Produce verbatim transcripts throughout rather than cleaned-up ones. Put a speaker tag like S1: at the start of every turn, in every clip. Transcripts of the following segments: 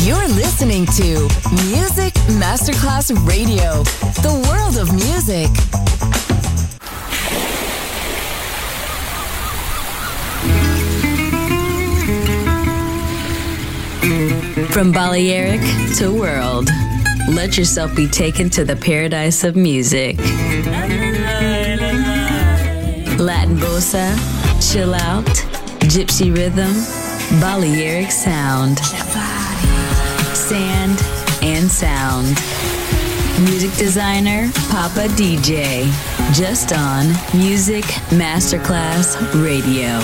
S1: You're listening to Music Masterclass Radio, the world of music. From Balearic to world, let yourself be taken to the paradise of music. Latin bossa, chill out, gypsy rhythm, Balearic sound, sand and sound. Music designer, Papa D J, just on Music Masterclass Radio.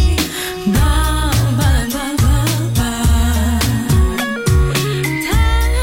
S2: Time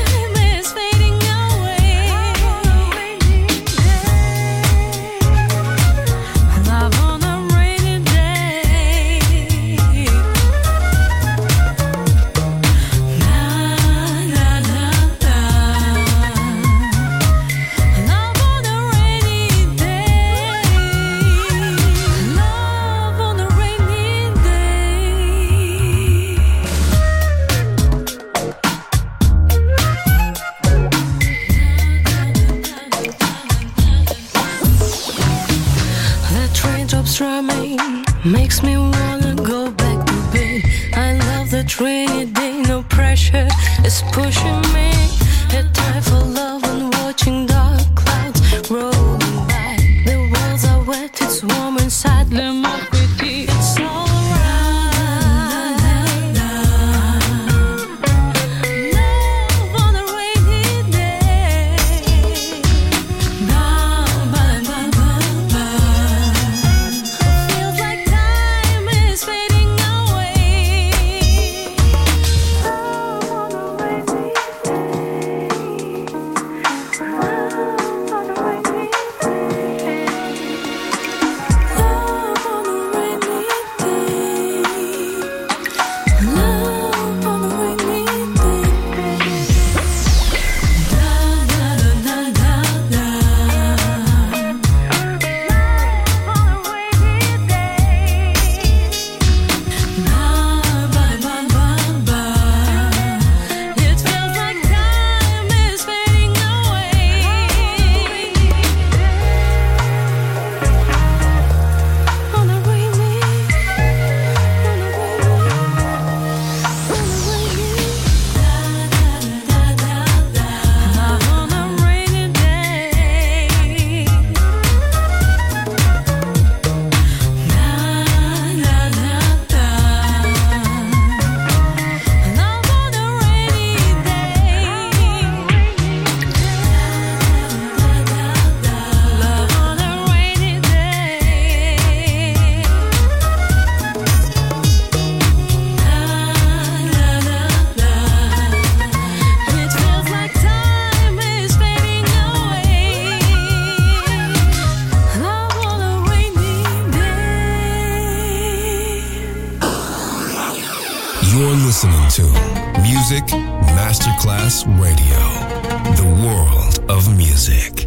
S2: makes me wanna go back to bed. I love that rainy day, no pressure is pushing me. A time for love and watching dark clouds rolling by. The walls are wet, it's warm inside. Let me pretty, it's alright. Love on a rainy day. Ba, ba, ba, ba, ba. Feels like time is fading away. Love on a rainy day. Love on a rainy day. Love on a rainy day. Love on a rainy day. Da da da da da. Love on a rainy day. Ba ba ba ba ba. It feels like time is fading away. On a rainy, on a rainy, on a rainy, da da da da da. On a rainy day. Da da da da. Love on a rainy day. Love on a rainy day. It feels like time is fading away. Love on a rainy day.
S3: You're listening to Music Masterclass Radio, the world of music.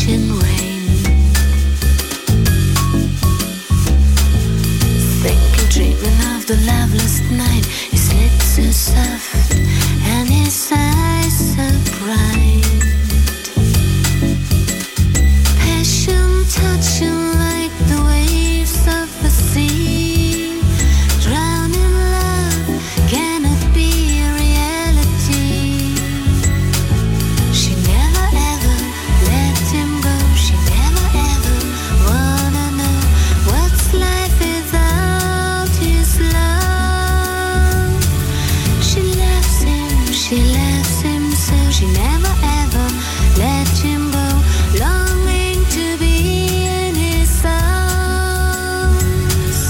S2: ocean rain. Thinking, dreaming of the loveless night. His lips so soft and his eyes so bright. Passion touching like the waves of the sea. Drowning love cannot be a reality. She never ever let him go. She never ever wanna know what's life without his love. She loves him, she loves him so. She never ever let him go. Longing to be in his arms.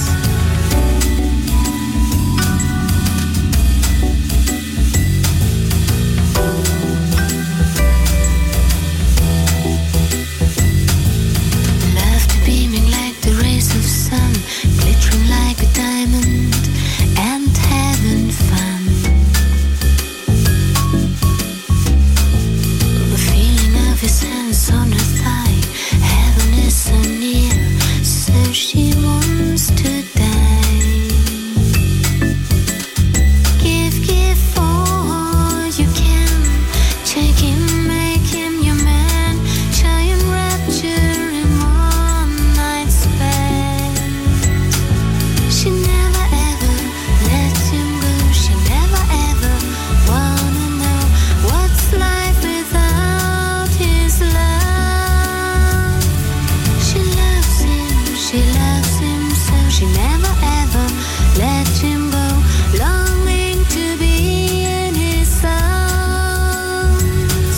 S2: Laughter beaming like the rays of sun, glittering like a diamond, and having fun. The feeling of his hands on her thigh, heaven is so near, so she wants to die. Give, give all you can, take him, make him your man, giant rapture in one night stand. She never ever let him go. She never ever wanna know what's life without his love. She loves him, she loves him so. She never ever let him go. Longing to be in his arms.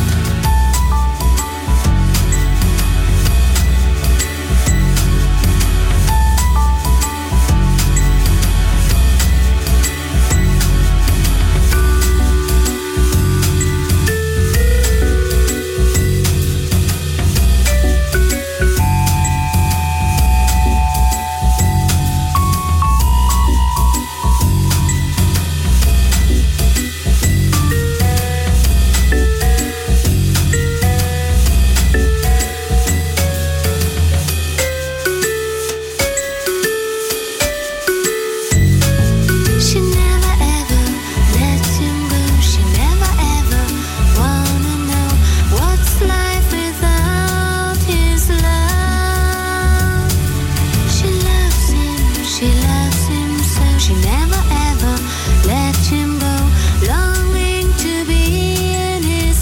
S2: She never ever let him go. She never ever wanna know what's life without his love. She loves him, she loves him so. She never ever let him go. Longing to be in his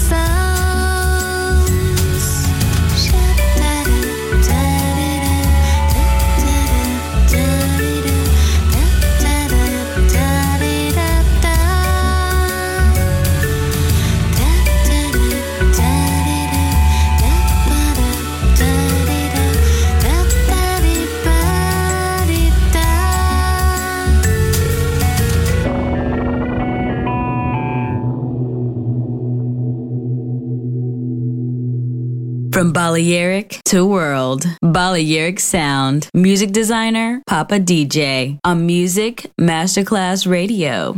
S2: arms.
S1: From Balearic to World, Balearic Sound. Music designer, Papa D J. On Music Masterclass Radio.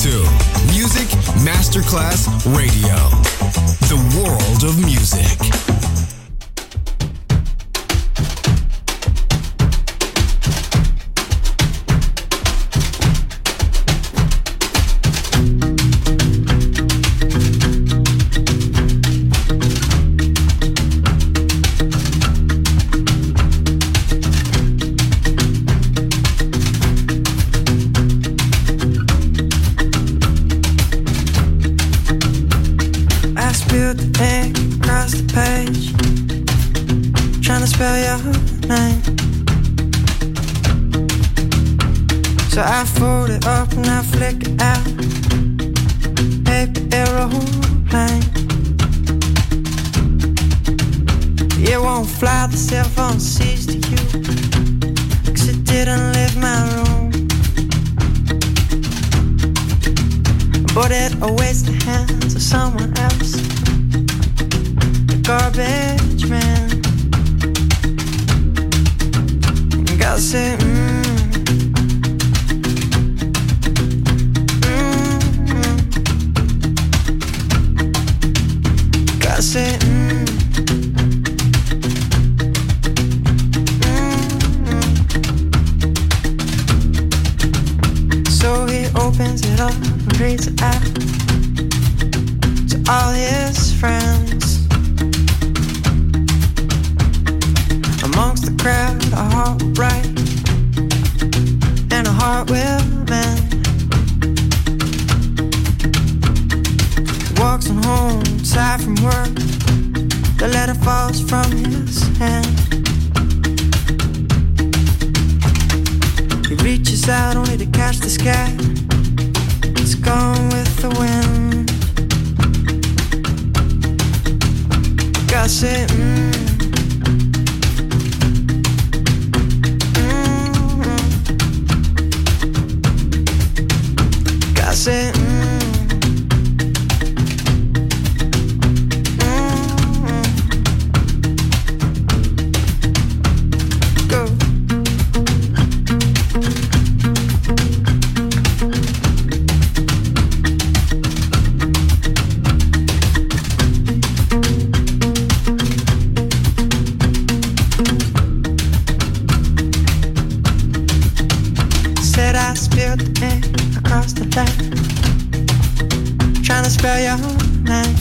S3: to Music Masterclass Radio, the world of music.
S4: Spell your name. So I fold it up and I flick it out. Paper aeroplane. It won't fly, the cell phone sees to you, 'cause it didn't leave my room. But it awaits the hands of someone else, the garbage man. I say, mm, mm, mm. I say, mm, mm, mm. So he opens it up and reads it out to all his friends. Amongst the crowd, a heart will break and a heart will mend. Walks on home, tired from work. The letter falls from his hand. He reaches out only to catch the sky. It's gone with the wind. God said, mm. I said, mm, mm, go. Said I spilled the ink across the line, trying to spell your name.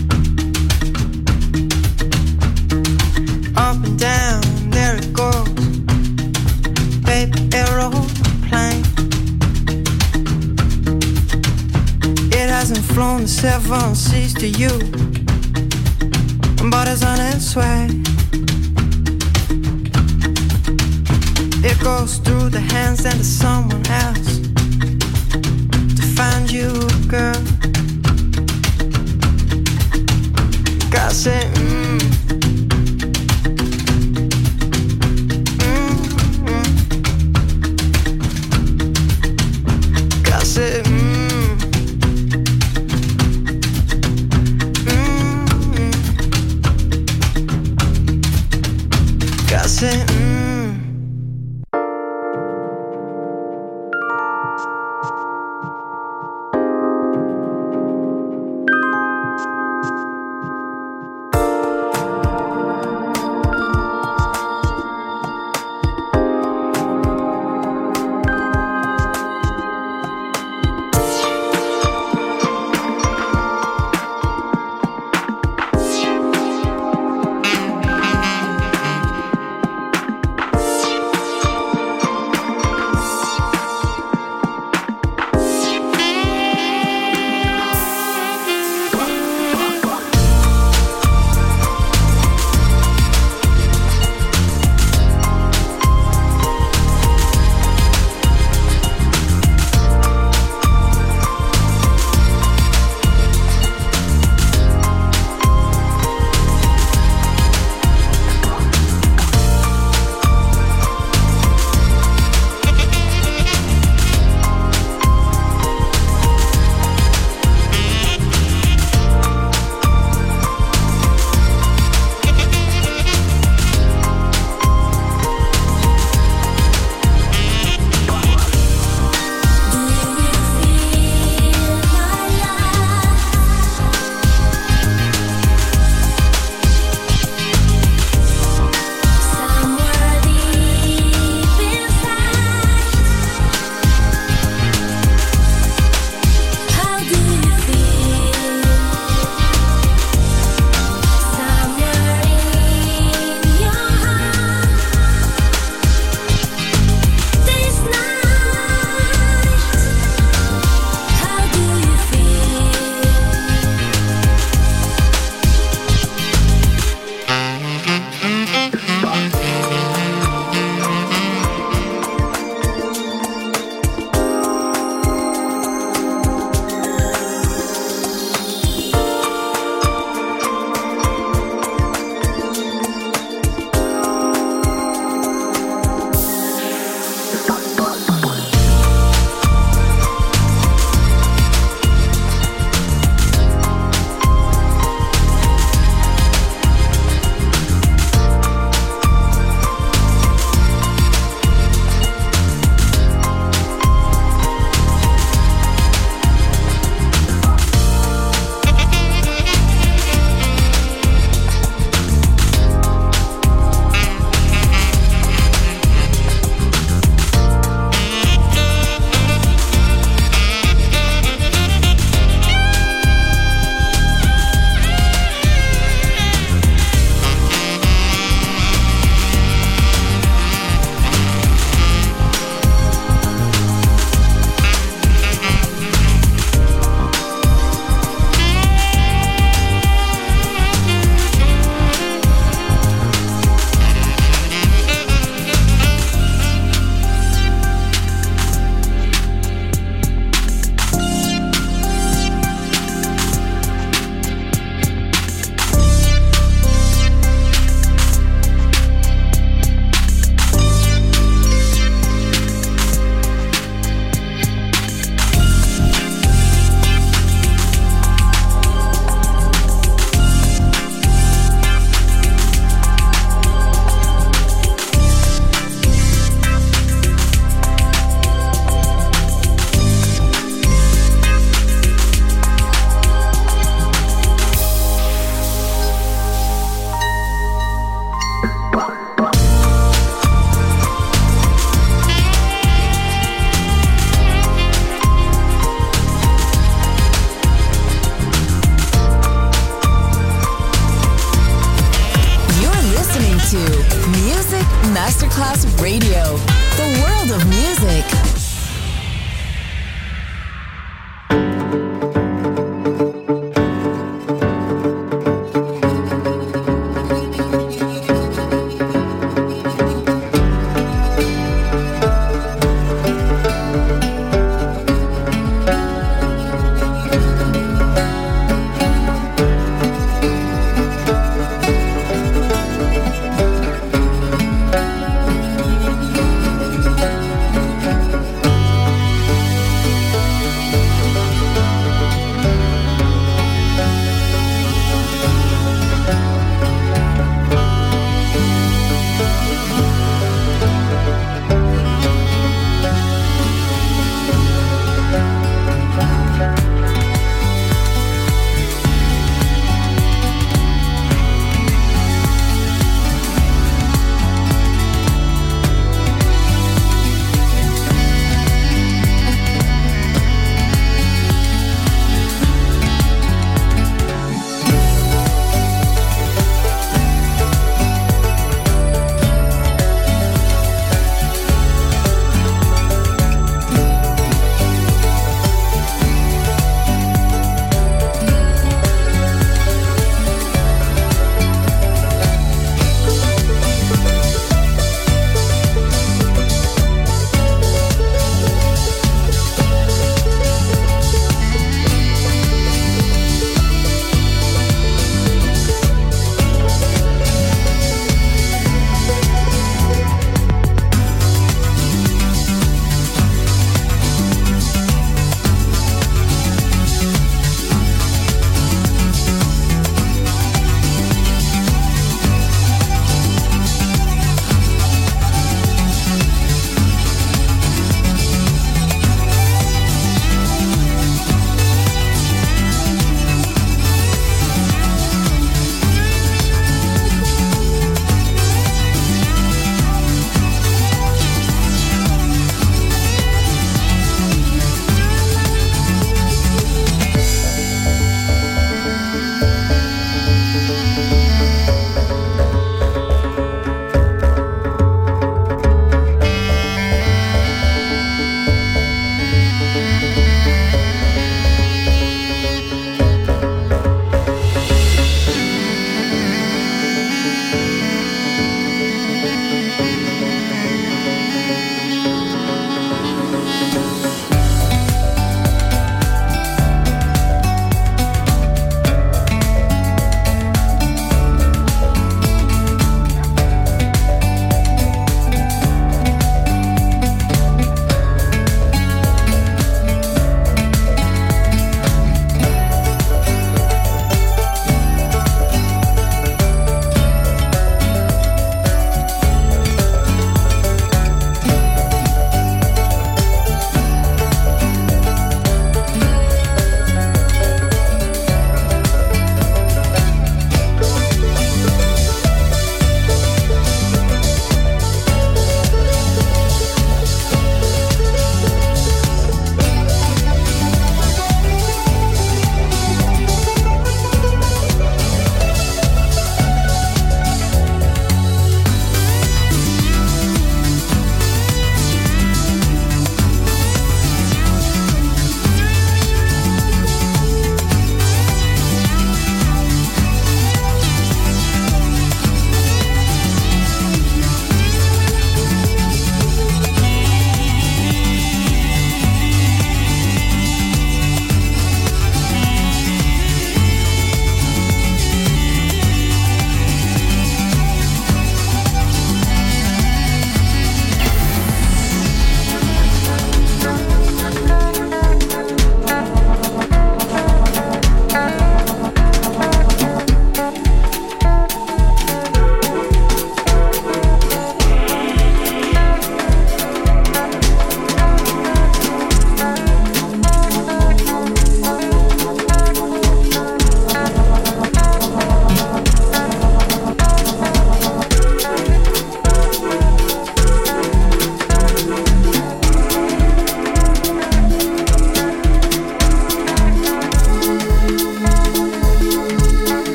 S4: Up and down, there it goes, paper aeroplane. It hasn't flown the seven seas to you, but it's on its way. It goes through the hands and to someone else to find you, girl. God said, mm, mm, mm. God said, mm, mm, mm. God said, mm.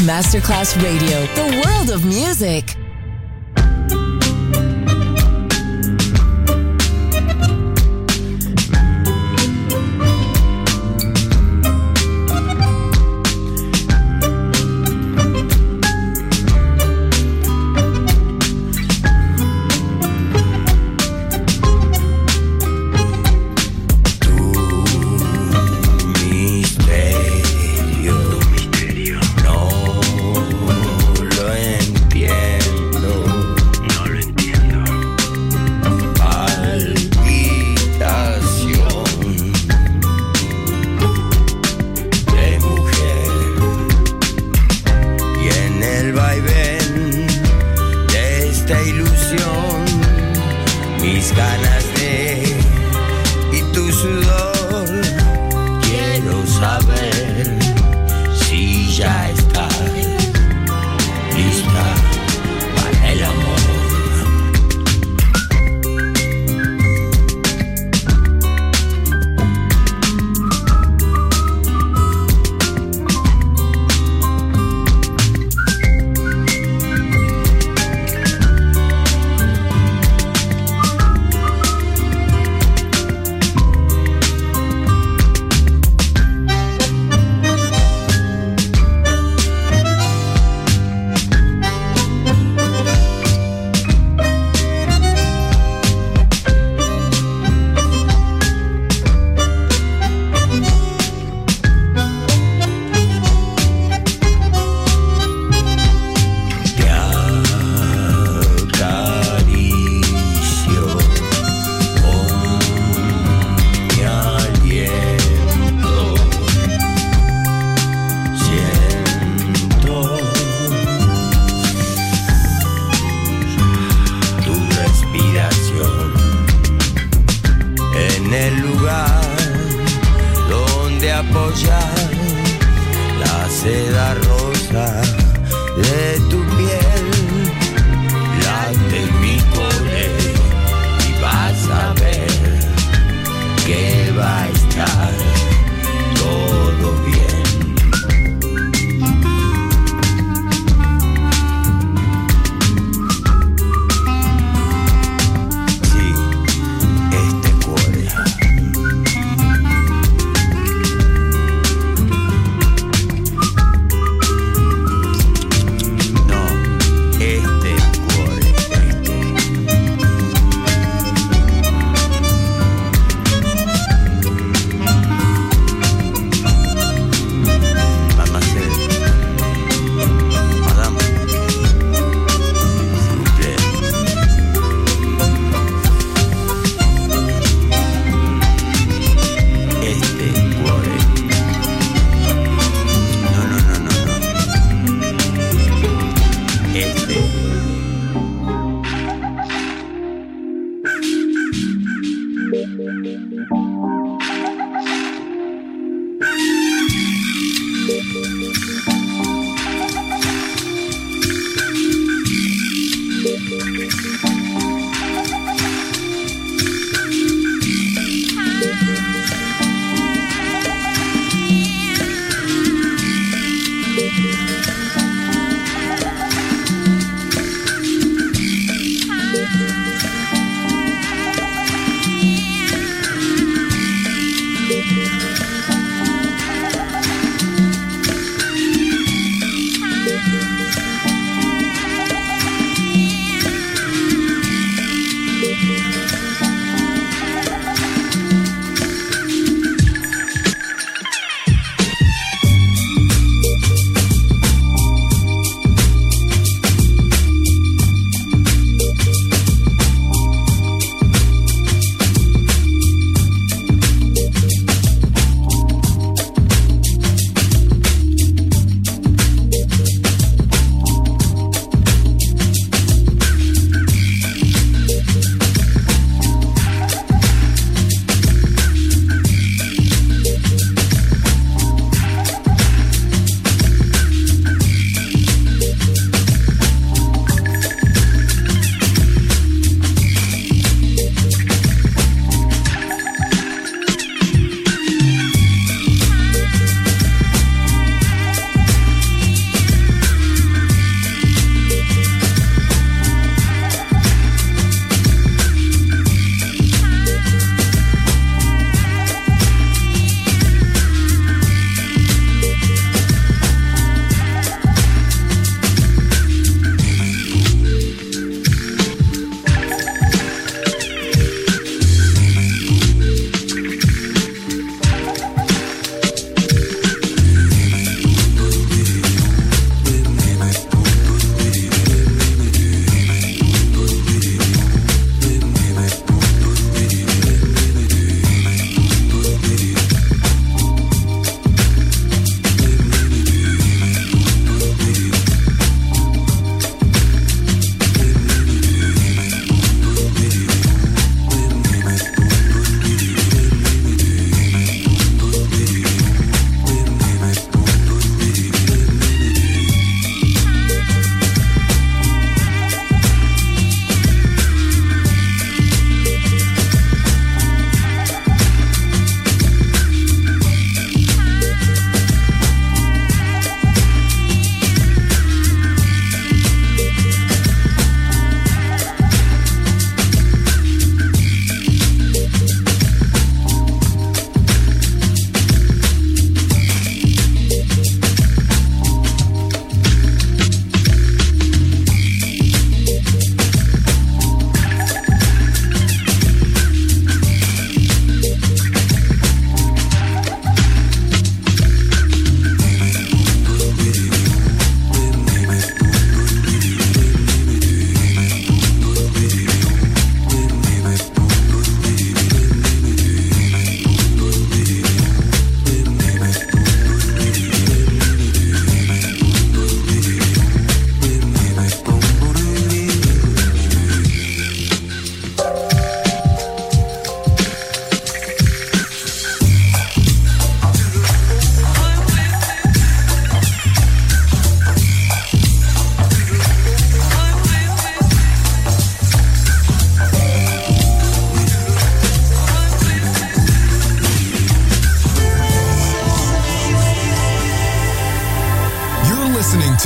S5: Masterclass Radio, the world of music.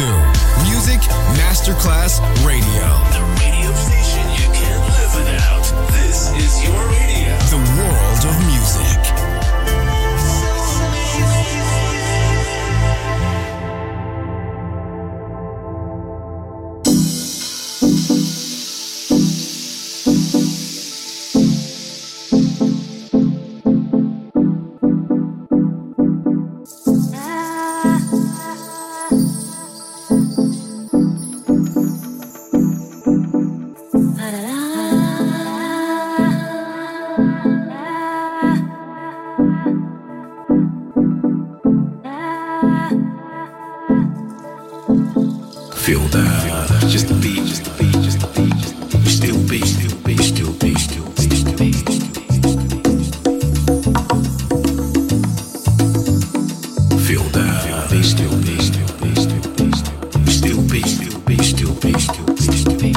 S3: to Music Masterclass Radio.
S6: The radio station you can't live without. This is your radio.
S3: The world of music.
S6: Feel that, just the beat, just the beat, just the beat, just the beat. Still beat, still beat, still beat, still beat, still beat. Feel that, beat, still beat, still beat, still beat, still beat, still beat, still beat, still beat, still beat.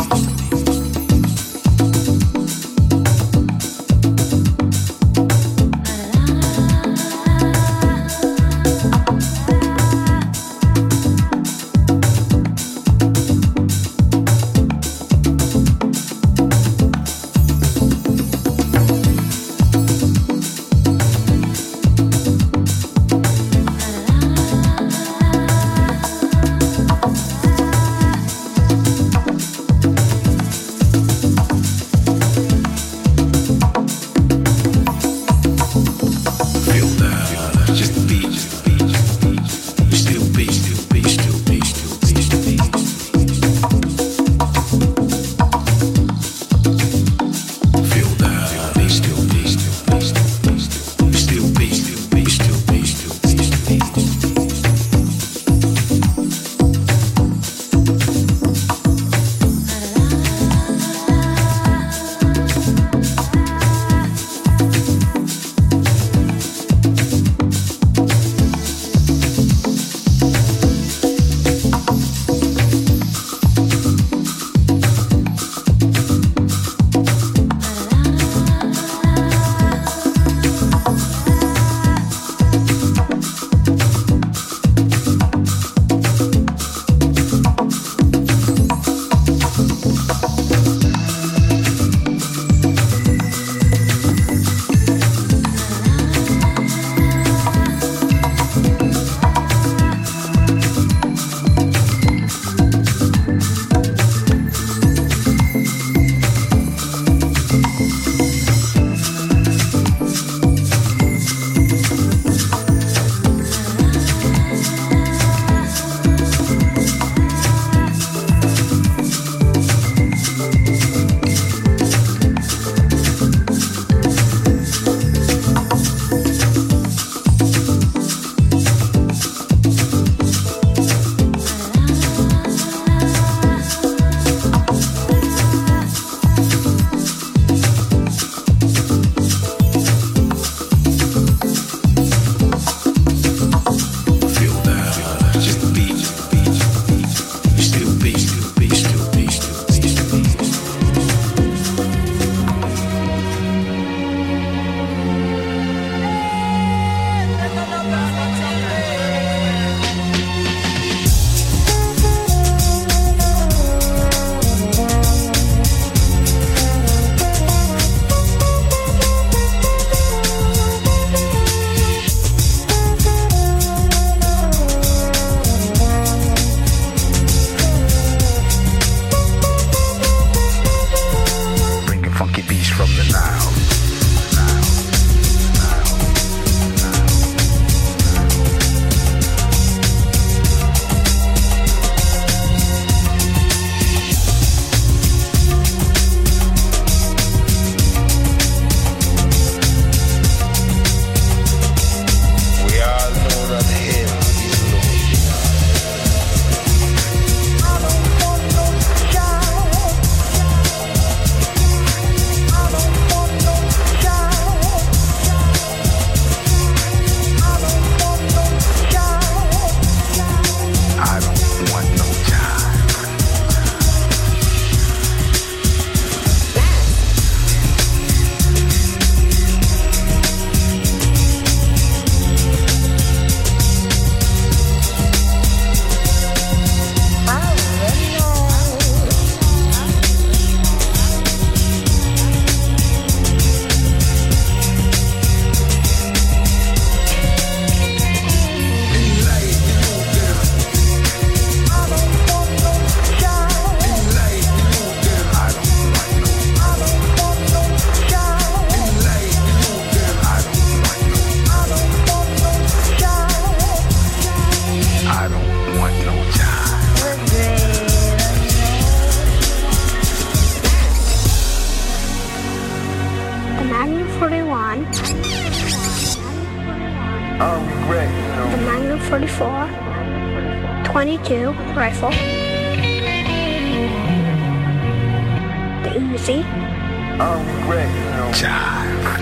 S7: The Magnum forty-four, twenty-two rifle, the Uzi.
S6: Jive.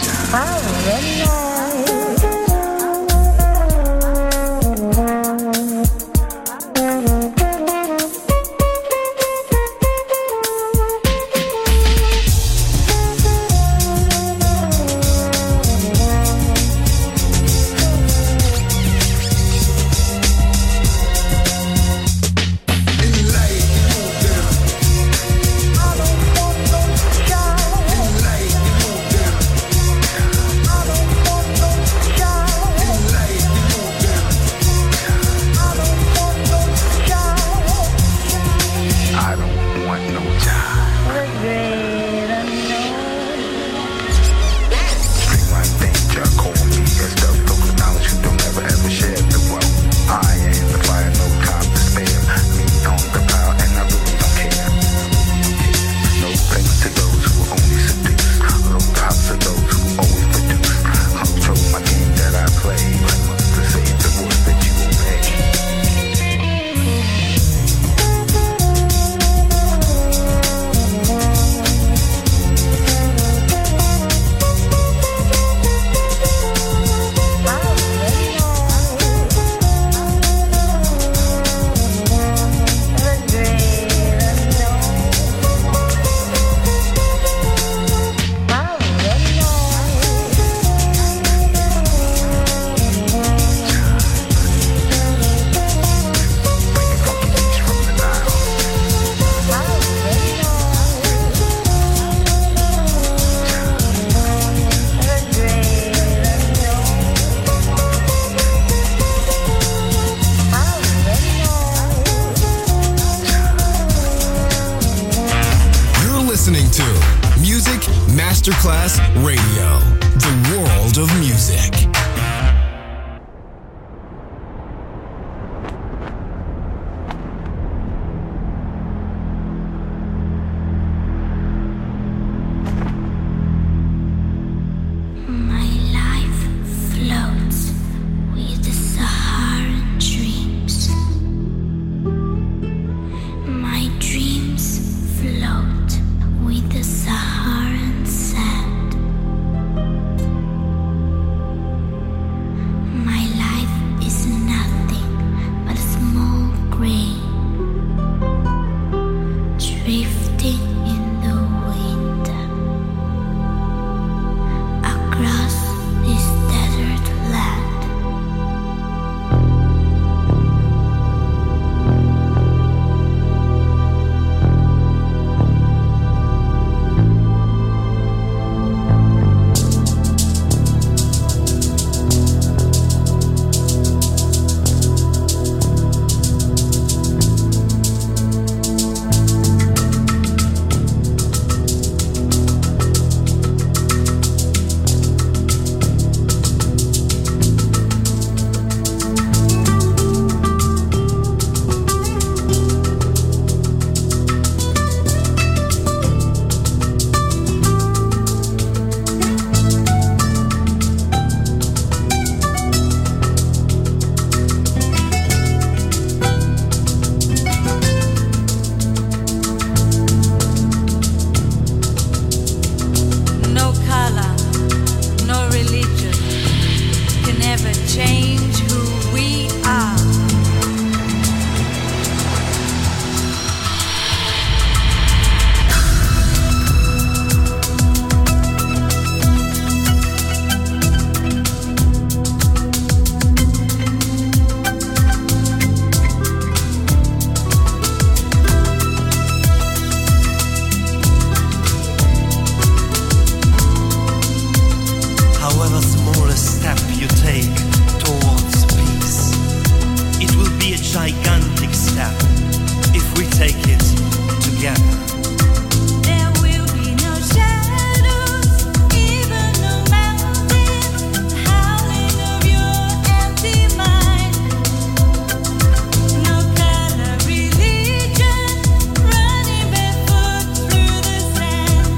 S3: Masterclass Radio, the world of music.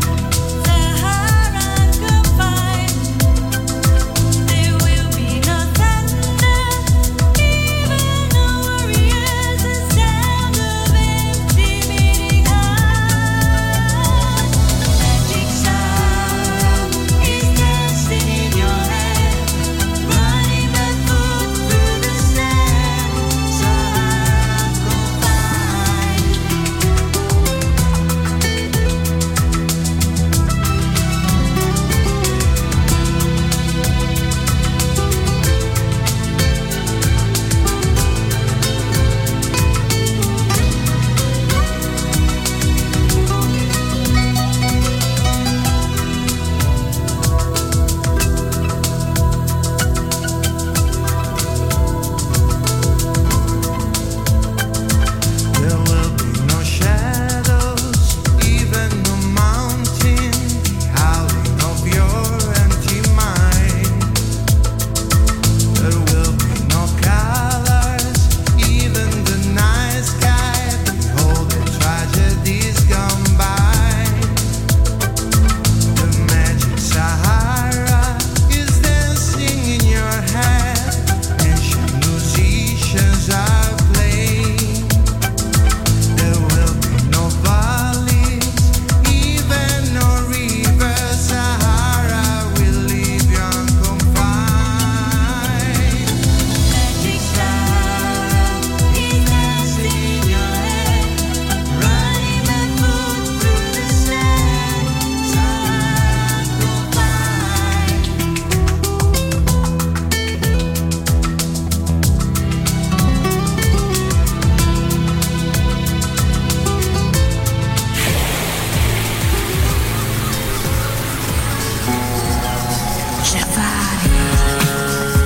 S2: There will be nothing.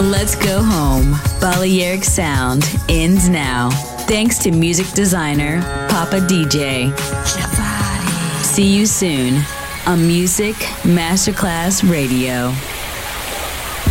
S1: Let's Go Home. Balearic Sound ends now. Thanks to music designer Papa D J. See you soon on Music Masterclass Radio.